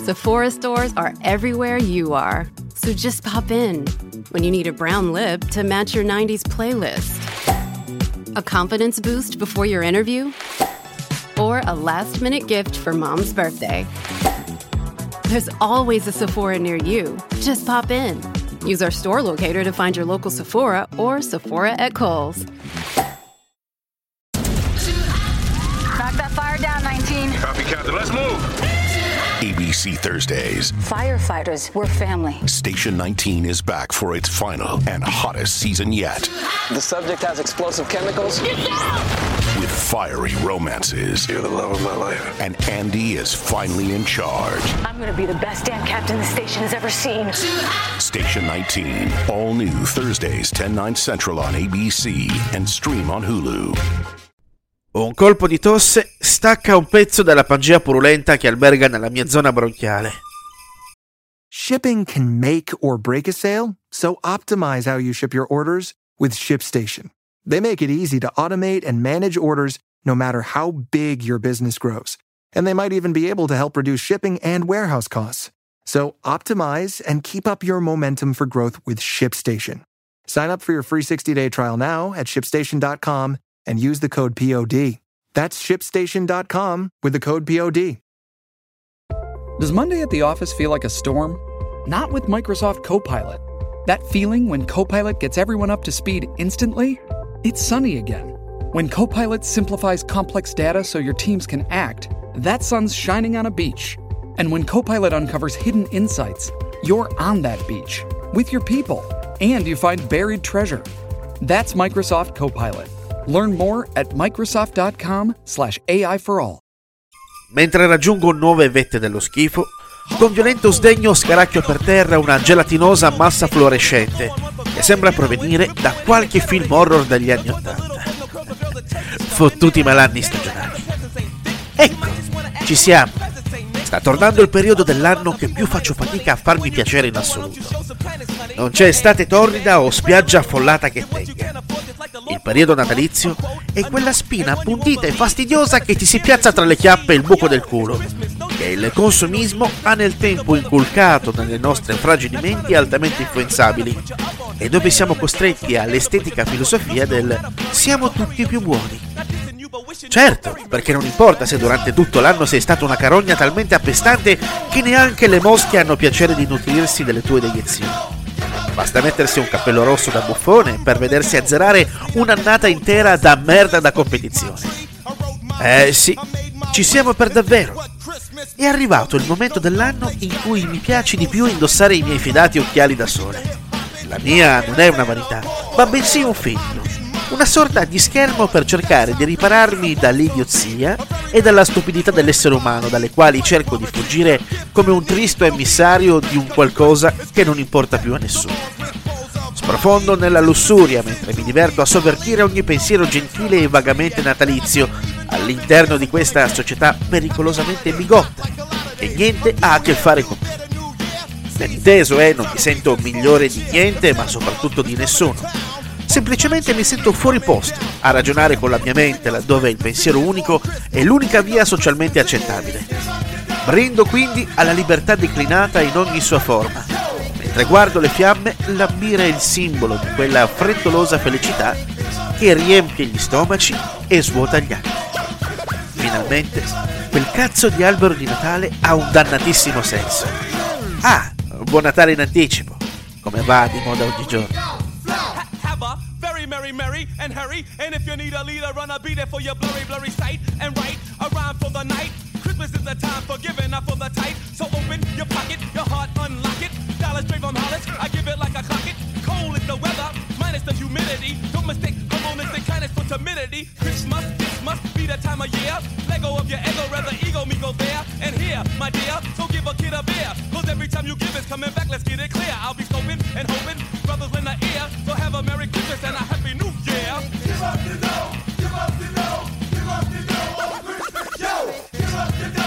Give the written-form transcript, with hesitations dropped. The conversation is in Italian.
Sephora stores are everywhere you are. So just pop in when you need a brown lip to match your 90s playlist. A confidence boost before your interview? Or a last-minute gift for mom's birthday? There's always a Sephora near you. Just pop in. Use our store locator to find your local Sephora or Sephora at Kohl's. Knock that fire down, 19. Copy, Captain. Let's move. ABC Thursdays. Firefighters, we're family. Station 19 is back for its final and hottest season yet. The subject has explosive chemicals. With fiery romances. You're the love of my life. And Andy is finally in charge. I'm going to be the best damn captain the station has ever seen. Station 19. All new Thursdays, 10/9 Central on ABC and stream on Hulu. Un colpo di tosse stacca un pezzo della Pangea purulenta che alberga nella mia zona bronchiale. Shipping can make or break a sale, so optimize how you ship your orders with ShipStation. They make it easy to automate and manage orders no matter how big your business grows. And they might even be able to help reduce shipping and warehouse costs. So optimize and keep up your momentum for growth with ShipStation. Sign up for your free 60-day trial now at ShipStation.com and use the code POD. That's ShipStation.com with the code POD. Does Monday at the office feel like a storm? Not with Microsoft Copilot. That feeling when Copilot gets everyone up to speed instantly? It's sunny again. When Copilot simplifies complex data so your teams can act, that sun's shining on a beach. And when Copilot uncovers hidden insights, you're on that beach with your people, and you find buried treasure. That's Microsoft Copilot. Learn more at Microsoft.com/AI for all. Mentre raggiungo nuove vette dello schifo, con violento sdegno scaracchio per terra una gelatinosa massa fluorescente che sembra provenire da qualche film horror degli anni '80. Fottuti malanni stagionali. Ecco, ci siamo. Sta tornando il periodo dell'anno che più faccio fatica a farmi piacere in assoluto. Non c'è estate torrida o spiaggia affollata che tenga. Il periodo natalizio è quella spina appuntita e fastidiosa che ti si piazza tra le chiappe e il buco del culo, che il consumismo ha nel tempo inculcato nelle nostre fragili menti altamente influenzabili, e dove siamo costretti all'estetica filosofia del siamo tutti più buoni. Certo, perché non importa se durante tutto l'anno sei stata una carogna talmente appestante che neanche le mosche hanno piacere di nutrirsi delle tue deiezioni. Basta mettersi un cappello rosso da buffone per vedersi azzerare un'annata intera da merda da competizione. Sì, ci siamo per davvero. È arrivato il momento dell'anno in cui mi piace di più indossare i miei fidati occhiali da sole. La mia non è una vanità, ma bensì un filtro. Una sorta di schermo per cercare di ripararmi dall'idiozia e dalla stupidità dell'essere umano, dalle quali cerco di fuggire come un tristo emissario di un qualcosa che non importa più a nessuno. Sprofondo nella lussuria mentre mi diverto a sovvertire ogni pensiero gentile e vagamente natalizio all'interno di questa società pericolosamente bigotta, che niente ha a che fare con me. Ben inteso, non mi sento migliore di niente, ma soprattutto di nessuno. Semplicemente mi sento fuori posto a ragionare con la mia mente laddove il pensiero unico è l'unica via socialmente accettabile. Brindo quindi alla libertà declinata in ogni sua forma, mentre guardo le fiamme lambire il simbolo di quella frettolosa felicità che riempie gli stomaci e svuota gli anni. Finalmente, quel cazzo di albero di Natale ha un dannatissimo senso. Ah, buon Natale in anticipo, come va di moda oggigiorno. Merry and hurry, and if you need a leader, run a beat it for your blurry sight, and write a rhyme for the night. Christmas is the time for giving, not for the tight. So open your pocket, your heart, unlock it. Dollars straight from Hollis, I give it like a clock it. Cold is the weather, minus the humidity. Don't mistake harmonistic kindness for timidity. Christmas, this must be the time of year. Let go of your ego, rather ego me go there. And here, my dear, so give a kid a beer. Cause every time you give it's coming back, let's get it clear. I'll be scoping and hoping, brothers lend the ear. So have a Merry Christmas and a Happy New Year. Give up the dough, give up the dough, give up the dough. Christmas, yo, give up the dough.